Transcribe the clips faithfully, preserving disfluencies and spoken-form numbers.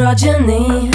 androgyny.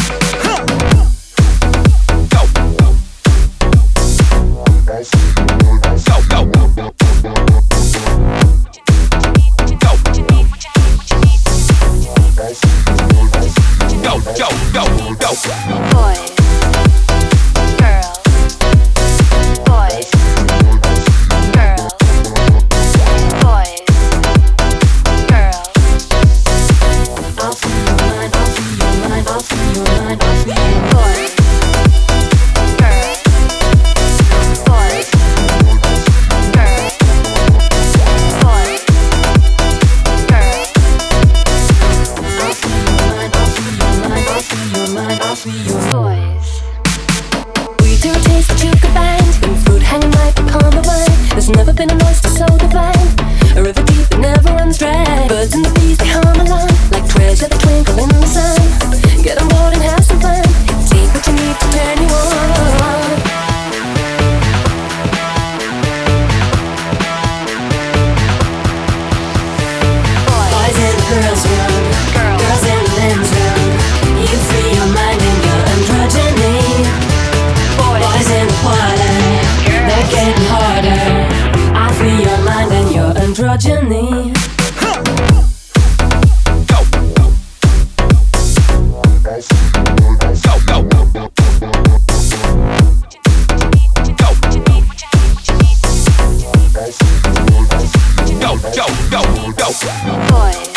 There's never been an oyster so divine, a river deep that never runs dry. Birds and the bees, they hum along like treasure that twinkle in the sun. Get on board and have some fun. Take what you need to turn you on. Boys and girls run, girls and men's run. You free your mind and your androgyny. Boys in the party, they're getting harder. Free your mind and your androgyny. Go, go, go, go. Boy.